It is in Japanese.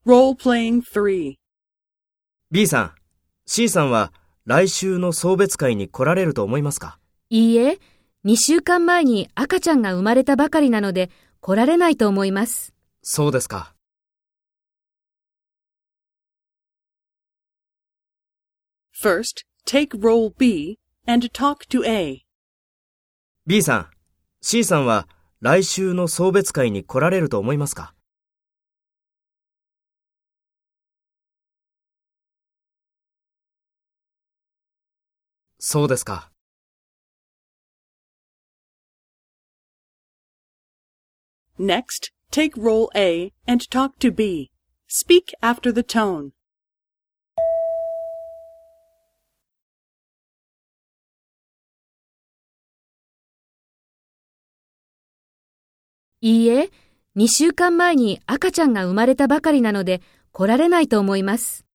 Role-playing 3. B さん、C さんは来週の送別会に来られると思いますか？ いいえ、2週間前に赤ちゃんが生まれたばかりなので来られないと思います。 そうですか。 First, take role B and talk to A. B さん、C さんは来週の送別会に来られると思いますか？そうですか。 Next, take role A and talk to B. Speak after the tone. いいえ、2週間前に赤ちゃんが生まれたばかりなので来られないと思います。